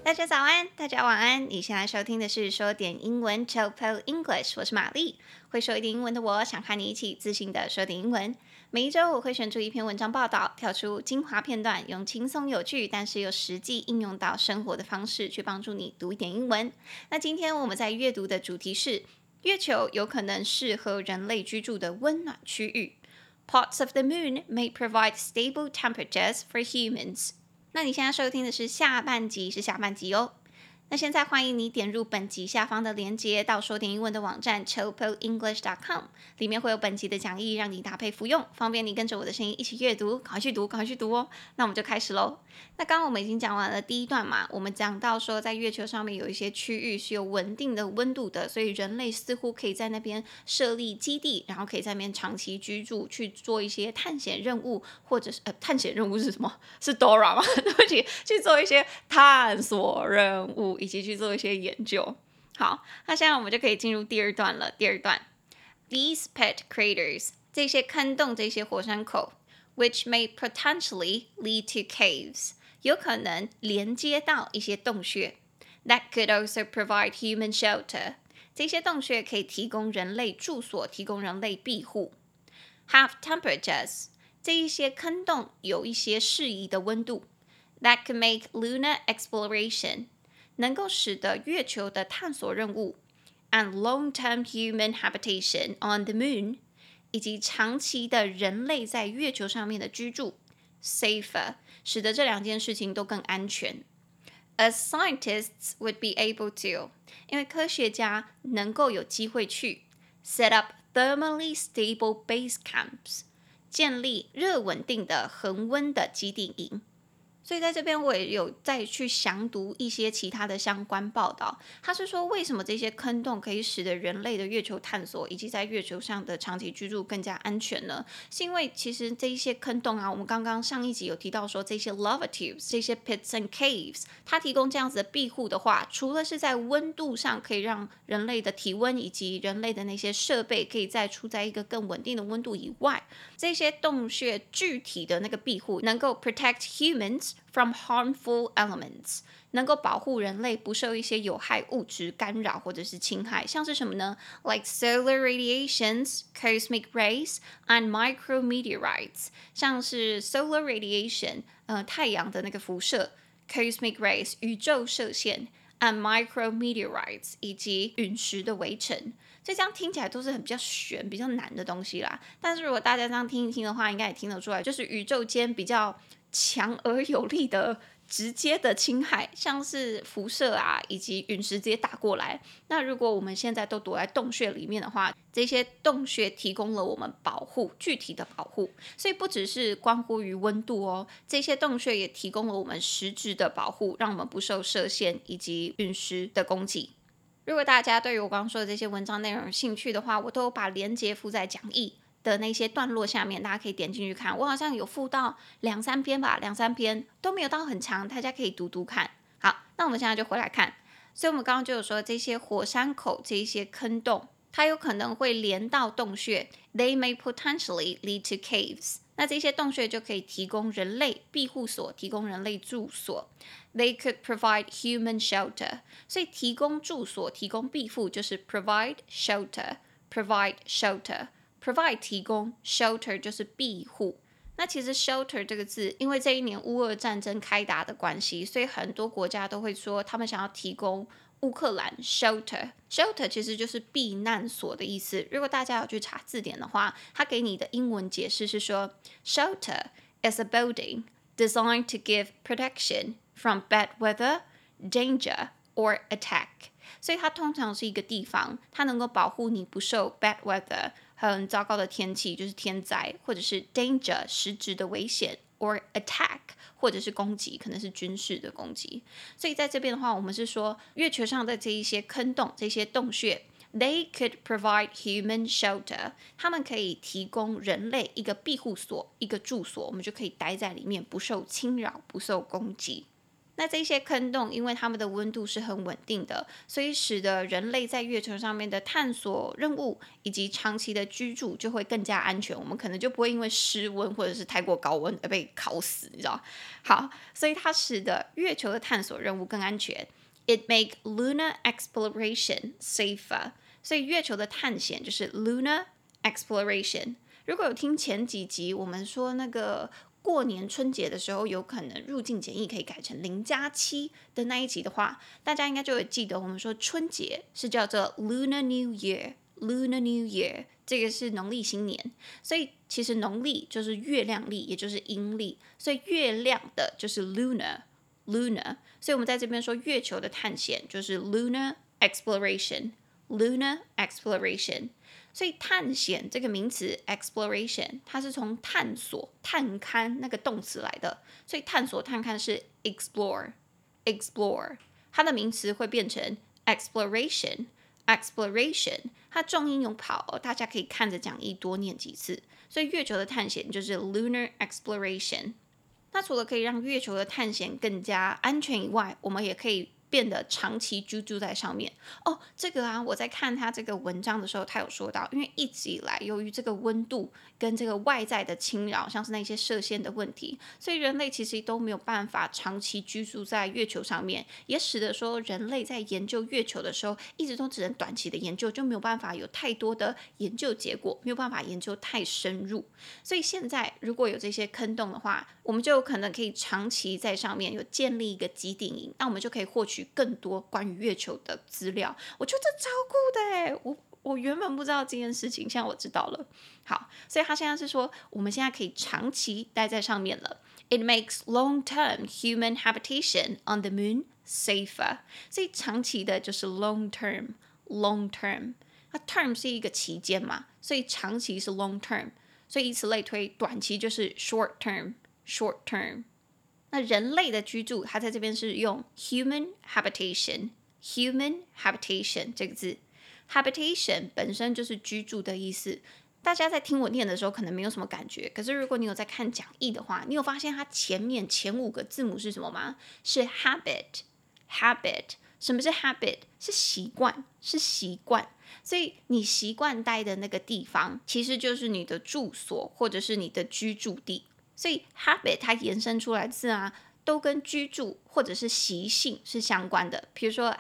大家早安，大家晚安。你現在收聽的是說點英文 Chopo English， 我是瑪麗。會說一點英文的我，想和你一起自信的說點英文。每一周我會選出一篇文章報道，跳出精華片段，用輕鬆有趣，但是又實際應用到生活的方式，去幫助你讀一點英文。那今天我們在閱讀的主題是：月球有可能適合人類居住的溫暖區域。Parts of the moon may provide stable temperatures for humans。那你現在收聽的是下半集哦。那現在歡迎你點入本集下方的連結，到說點英文的網站 chopoenglish.com， 裡面會有本集的講義，讓你搭配服用，方便你跟着我的聲音一起閱讀，趕快去讀哦。那我們就開始嘍。那剛剛我們已經講完了第一段嘛，我們講到說在月球上面有一些區域是有穩定的溫度的，所以人類似乎可以在那邊設立基地，然後可以在那邊長期居住，去做一些探險任務，或者是探險任務是什麼？是 Dora 嗎？對不起，去做一些探索任務，以及去做一些研究。好，那現在我們就可以進入第二段了。第二段 ，These pit craters， 這些坑洞，這些火山口 ，which may potentially lead to caves， 有可能連接到一些洞穴 ，that could also provide human shelter， 這些洞穴可以提供人類住所，提供人類庇護。Have temperatures， 這一些坑洞有一些適宜的溫度 ，that could make lunar exploration，能夠使得月球的探索任務 and long-term human habitation on the moon， 以及長期的人類在月球上面的居住 safer， 使得這兩件事情都更安全。As scientists would be able to， 因為科學家能夠有機會去 set up thermally stable base camps， 建立熱穩定的恆溫的基地營。所以在這邊我也有再去詳讀一些其他的相關報道，他是說為什麼這些坑洞可以使得人類的月球探索以及在月球上的長期居住更加安全呢？是因為其實這一些坑洞啊，我們剛剛上一集有提到說這些 lava tubes， 這些 pits and caves， 它提供這樣子的庇護的話，除了是在溫度上可以讓人類的體溫以及人類的那些設備可以再處在一個更穩定的溫度以外，這些洞穴具體的那個庇護能夠 protect humans from harmful elements， 能夠保護人類不受一些有害物質干擾或者是侵害，像是什麼呢？ Like solar radiations, cosmic rays, and micrometeorites， 像是 solar radiation， 太陽的那個輻射 ，cosmic rays， 宇宙射線 ，and micrometeorites， 以及隕石的圍城。所以這樣聽起來都是很比較玄、比較難的東西啦。但是如果大家這樣聽一聽的話，應該也聽得出來，就是宇宙間比較強而有力的直接的侵害，像是輻射啊，以及隕石直接打過來。那如果我們現在都躲在洞穴裡面的話，這些洞穴提供了我們保護，具體的保護。所以不只是關乎於溫度哦，這些洞穴也提供了我們實質的保護，讓我們不受射線以及隕石的攻擊。如果大家對於我剛剛說的這些文章內容有興趣的話，我都有把連結附在講義的那些段落下面，大家可以點進去看。我好像有附到2-3篇吧，2-3篇都沒有到很長，大家可以讀讀看。好，那我們現在就回来看。所以我們剛剛就有說，這些火山口，這些坑洞，它有可能會連到洞穴 ，They may potentially lead to caves。那這些洞穴就可以提供人類庇護所，提供人類住所。They could provide human shelter。所以提供住所、提供庇護就是 provide shelter。provide shelter。provide 提供 ，shelter 就是庇護。那其實 shelter 這個字，因為這一年烏俄戰爭開打的關係，所以很多國家都會說他們想要提供烏克蘭 shelter。shelter 其實就是避難所的意思。如果大家有去查字典的話，它給你的英文解釋是說 ，shelter is a building designed to give protection from bad weather, danger or attack。所以它通常是一個地方，它能夠保護你不受 bad weather。很糟糕的天氣，就是天災，或者是 danger 實質的危險 ，or attack 或者是攻擊，可能是軍事的攻擊。所以在這邊的話，我們是說月球上的這一些坑洞、這些洞穴 ，they could provide human shelter， 他們可以提供人類一個庇護所、一個住所，我們就可以待在裡面，不受侵擾、不受攻擊。 那這些坑洞，因為它們的溫度是很穩定的，所以使得人類在月球上面的探索任務以及長期的居住就會更加安全。我們可能就不會因為失溫或者是太過高溫而被烤死，你知道？好，所以它使得月球的探索任務更安全。It make lunar exploration safer。所以月球的探險就是 lunar exploration。如果有聽前幾集，我們說那個過年春節的時候，有可能入境檢疫可以改成0+7的那一集的話，大家應該就會記得我們說春節是叫做 Lunar New Year。Lunar New Year 這個是農曆新年，所以其實農曆就是月亮曆，也就是陰曆，所以月亮的就是 lunar。所以我們在這邊說月球的探險就是 lunar exploration。Lunar exploration。所以探險這個名詞 exploration 它是從探索探勘那個動詞來的，所以探索探勘是 explore。它的名詞會變成 exploration。它重音有跑，大家可以看着講義多念幾次。所以月球的探險就是 lunar exploration。那除了可以讓月球的探險更加安全以外，我們也可以變得長期居住在上面。這個啊，我在看他這個文章的時候，他有說到，因為一直以來由於這個溫度跟這個外在的侵擾，像是那些射線的問題，所以人類其實都沒有辦法長期居住在月球上面，也使得說人類在研究月球的時候，一直都只能短期的研究，就沒有辦法有太多的研究結果，沒有辦法研究太深入。所以現在如果有這些坑洞的話，我們就有可能可以長期在上面有建立一個基地營，那我們就可以獲取更多關於月球的資料。我覺得這超酷的耶，我原本不知道這件事情，現在我知道了。好，所以他現在是說，我們現在可以長期待在上面了。It makes long-term human habitation on the moon safer。所以長期的就是 long-term。那 term 是一個期間嘛，所以長期是 long-term。所以以此類推，短期就是 short-term。那人類的居住，它在這邊是用 human habitation 這個字。habitation 本身就是居住的意思。大家在聽我念的時候可能沒有什麼感覺，可是如果你有在看講義的話，你有發現它前5個字母是什麼嗎？是 habit。什麼是 habit？ 是習慣。所以你習慣待的那個地方，其實就是你的住所或者是你的居住地。所以 habit 它延伸出來的字啊，都跟居住或者是習性是相關的。比如說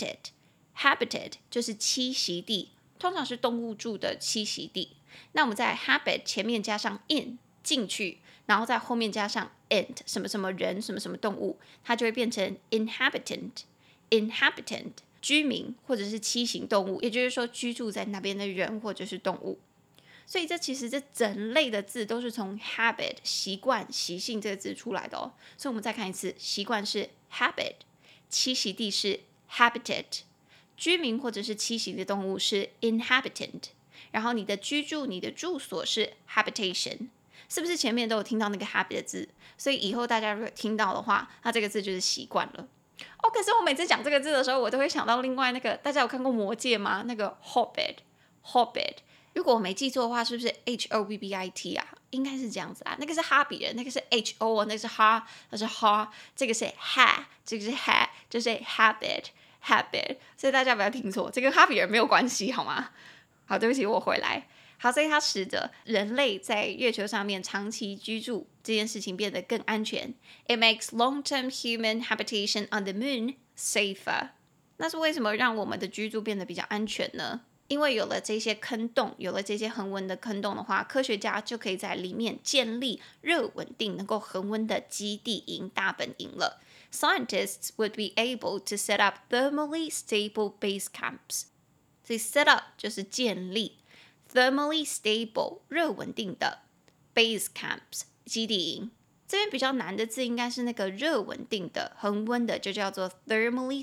habitat 就是棲息地，通常是動物住的棲息地。那我們在 habit 前面加上 in 進去，然後在後面加上 ent 什麼什麼人什麼什麼動物，它就會變成 inhabitant 居民或者是棲息動物，也就是說居住在那邊的人或者是動物。所以其實這整類的字都是從 habit 習慣習性這個字出來的哦。所以我們再看一次，習慣是 habit， 棲息地是 habitat， 居民或者是棲息的動物是 inhabitant， 然後你的居住你的住所是 habitation。是不是前面都有聽到那個 habit 的字？所以以後大家如果聽到的話，那這個字就是習慣了。可是我每次講這個字的時候，我都會想到另外那個，大家有看過魔戒嗎？那個 Hobbit。如果我沒記錯的話，是不是 Hobbit 啊？應該是這樣子啊。那個是哈比人，那個是 Ho， 那個是哈，那是哈，這個是 ha， 這個是 ha， 就是 habit。所以大家不要聽錯，這跟哈比人沒有關係，好嗎？好，對不起，我回來。好，所以它使得人類在月球上面長期居住這件事情變得更安全。It makes long-term human habitation on the moon safer。那是為什麼讓我們的居住變得比較安全呢？因為有了這些坑洞，有了這些恆溫的坑洞的話，科學家就可以在裡面建立熱穩定、能夠恆溫的基地營、大本營了。Scientists would be able to set up thermally stable base camps。所以 set up 就是建立。Thermally stable 熱穩定的 base camps 基地營，這邊比較難的字應該是那個熱穩定的恆溫的，就叫做 thermally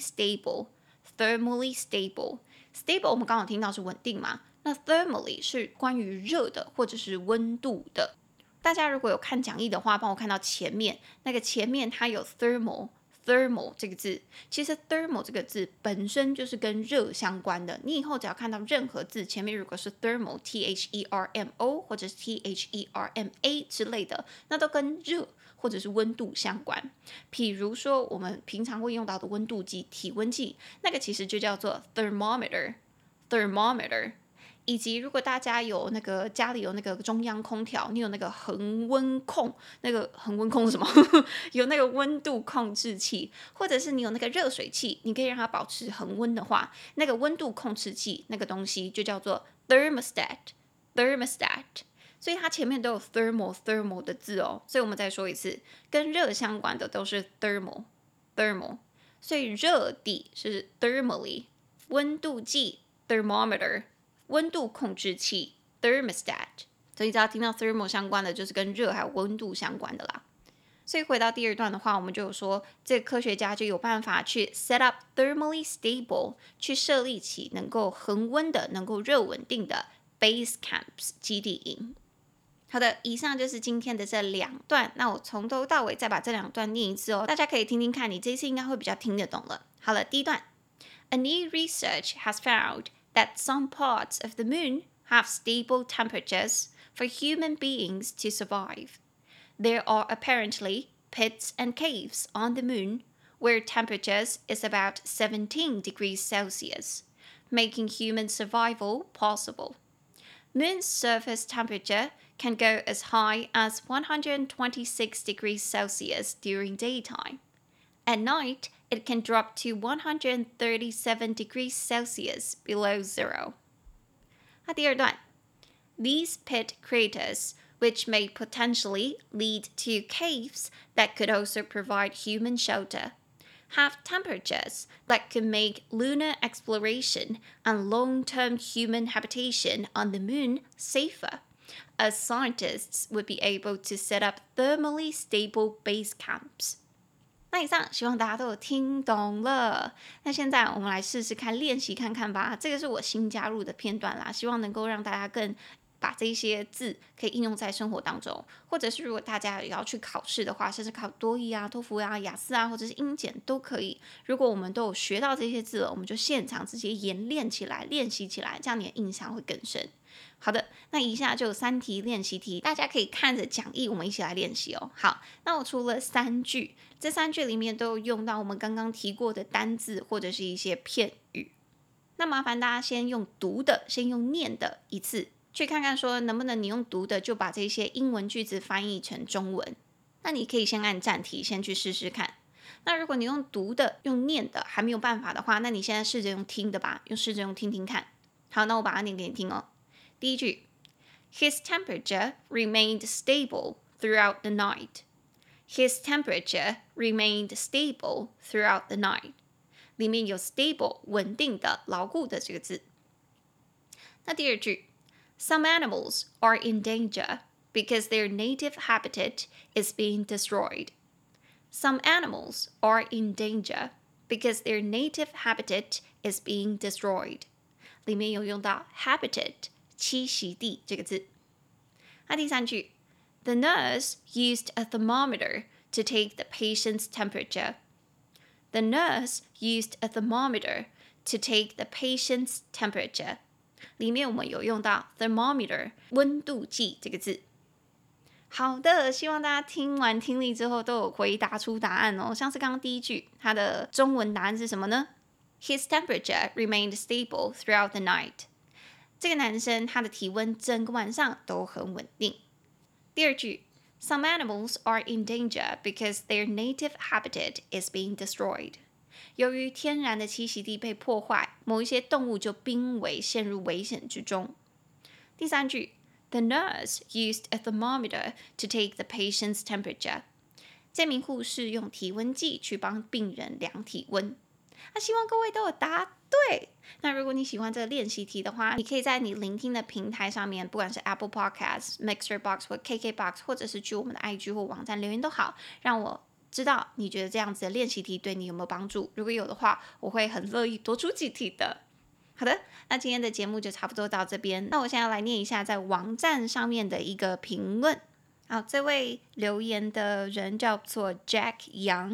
stable。Stable 我們剛好聽到是穩定嘛，那 thermally 是關於熱的或者是溫度的。大家如果有看講義的話，幫我看到前面那個前面它有 thermal thermal 這個字，其實 thermal 這個字本身就是跟熱相關的。你以後只要看到任何字前面如果是 thermal T-H-E-R-M-O 或者是 T-H-E-R-M-A 之類的，那都跟熱或者是溫度相關。譬如說我們平常會用到的溫度計、體溫計，那個其實就叫做 thermometer。以及如果大家有那個家裡有那個中央空調，你有那個恆溫控，那個恆溫控是什麼？有那個溫度控制器，或者是你有那個熱水器，你可以讓它保持恆溫的話，那個溫度控制器那個東西就叫做 thermostat。所以它前面都有 thermal 的字哦。所以我們再說一次，跟熱相關的都是 thermal。所以熱底是 thermally， 溫度計 thermometer。溫度控制器 thermostat， 所以只要聽到 thermal 相關的，就是跟熱還有溫度相關的啦。所以回到第二段的話，我們就有說，這個科學家就有辦法去 set up thermally stable， 去設立起能夠恆溫的、能夠熱穩定的 base camps 基地營。好的，以上就是今天的這兩段。那我從頭到尾再把這兩段念一次哦，大家可以聽聽看，你這一次應該會比較聽得懂了。好了，第一段 ，A new research has found that some parts of the moon have stable temperatures for human beings to survive. There are apparently pits and caves on the moon where temperatures is about 17 degrees Celsius, making human survival possible. Moon's surface temperature can go as high as 126 degrees Celsius during daytime. At night, it can drop to 137 degrees Celsius below zero. 那第二段 These pit craters, which may potentially lead to caves that could also provide human shelter, have temperatures that could make lunar exploration and long-term human habitation on the moon safer, as scientists would be able to set up thermally stable base camps.那以上希望大家都有聽懂了。那現在我們來試試看練習看看吧。這個是我新加入的片段啦，希望能夠讓大家更把這些字可以應用在生活當中，或者是如果大家也要去考試的話，甚至考多益啊、托福啊、雅思啊，或者是英檢都可以。如果我們都有學到這些字了，我們就現場直接演練起來、練習起來，這樣你的印象會更深。好的，那以下就有3題練習題，大家可以看着講義，我們一起來練習哦。好，那我出了3句，這3句裡面都有用到我們剛剛提過的單字或者是一些片語。那麻煩大家先用讀的，先用念的一次，去看看說能不能你用讀的就把這些英文句子翻譯成中文。那你可以先按暫停，先去試試看。那如果你用讀的、用念的還沒有辦法的話，那你現在試着用聽的吧，試着用聽聽看。好，那我把它念給你聽哦。第一句 His temperature remained stable throughout the night. His temperature remained stable throughout the night. 裡面有 stable 穩定的、牢固的這個字。那第二句 Some animals are in danger because their native habitat is being destroyed. Some animals are in danger because their native habitat is being destroyed. 裡面有用到 habitat栖息地這個字。那第三句 The nurse used a thermometer to take the patient's temperature. The nurse used a thermometer to take the patient's temperature. 裡面我們有用到 thermometer 溫度計這個字。好的，希望大家聽完聽力之後都有回答出答案哦。像是剛剛第一句，它的中文答案是什麼呢？ His temperature remained stable throughout the night. 這個男生他的體溫整個晚上都很穩定。第二句 Some animals are in danger because their native habitat is being destroyed. 由於天然的棲息地被破壞，某一些動物就瀕危陷入危險之中。第三句 The nurse used a thermometer to take the patient's temperature. 這名護士用體溫計去幫病人量體溫。那希望各位都有答對。那如果你喜歡這個練習題的話，你可以在你聆聽的平台上面，不管是 Apple Podcast、Mixer Box 或 KKBox， 或者是去我們的 IG 或網站留言都好，讓我知道你覺得這樣子的練習題對你有沒有幫助。如果有的話，我會很樂意多出幾題的。好的，那今天的節目就差不多到這邊。那我現在來念一下在網站上面的一個評論。好，這位留言的人叫做 Jack Young。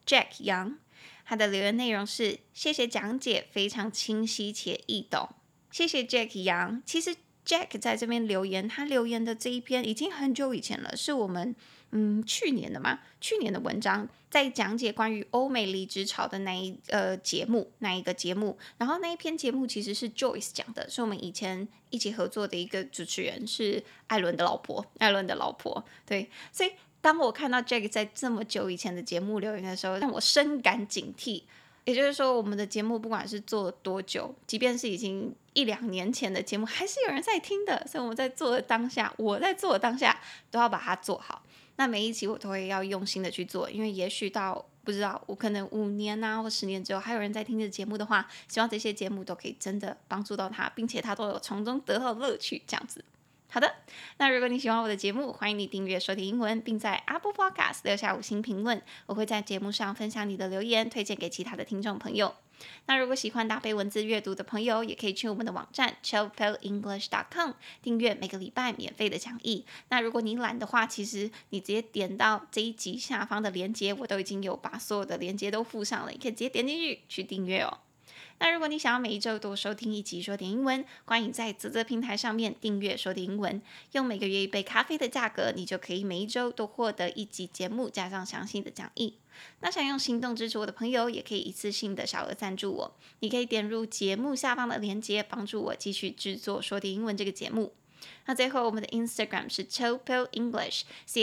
Jack Young， 他的留言內容是：謝謝講解，非常清晰且易懂。謝謝 Jack Young。其實 Jack 在這邊留言，他留言的這一篇已經很久以前了，是我們去年的文章，在講解關於歐美離職潮的那一個節目，然後那一篇節目其實是 Joyce 講的，是我們以前一起合作的一個主持人，是艾倫的老婆，對，所以當我看到 Jack 在這麼久以前的節目留言的時候，讓我深感警惕。也就是說，我們的節目不管是做了多久，即便是已經1-2年前的節目，還是有人在聽的。所以我在做的當下，都要把它做好。那每一集我都會要用心的去做，因為也許到不知道我可能5年或10年之後，還有人在聽這節目的話，希望這些節目都可以真的幫助到他，並且他都有從中得到樂趣，這樣子。好的，那如果你喜歡我的節目，歡迎你訂閱收聽英文，並在 Apple Podcast 留下5星評論。我會在節目上分享你的留言，推薦給其他的聽眾朋友。那如果喜歡搭配文字閱讀的朋友，也可以去我們的網站 chillpillenglish.com 訂閱每個禮拜免費的講義。那如果你懶的話，其實你直接點到這一集下方的連結，我都已經有把所有的連結都附上了，你可以直接點進去訂閱哦。那如果你想要每一周多收聽一集說點英文，歡迎在嘖平台上面訂閱說點英文，用每個月1杯咖啡的價格，你就可以每一周都獲得一集節目加上詳細的講義。那想用行動支持我的朋友，也可以一次性的小額贊助我，你可以點入節目下方的鏈接，幫助我繼續製作說點英文這個節目。那最後，我們的 Instagram 是 Chillpill English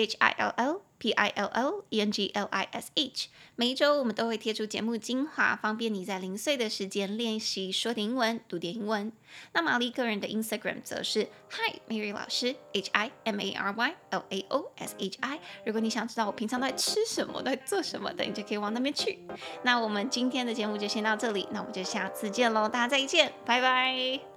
ChillpillEnglish。每一周我們都會貼出節目精華，方便你在零碎的時間練習說點英文、讀點英文。那瑪麗個人的 Instagram 則是 Hi Mary 老師 HIMARYLAOSHI。如果你想知道我平常都在吃什麼、都在做什麼的，你就可以往那邊去。那我們今天的節目就先到這裡，那我們就下次見嘍，大家再見，拜拜。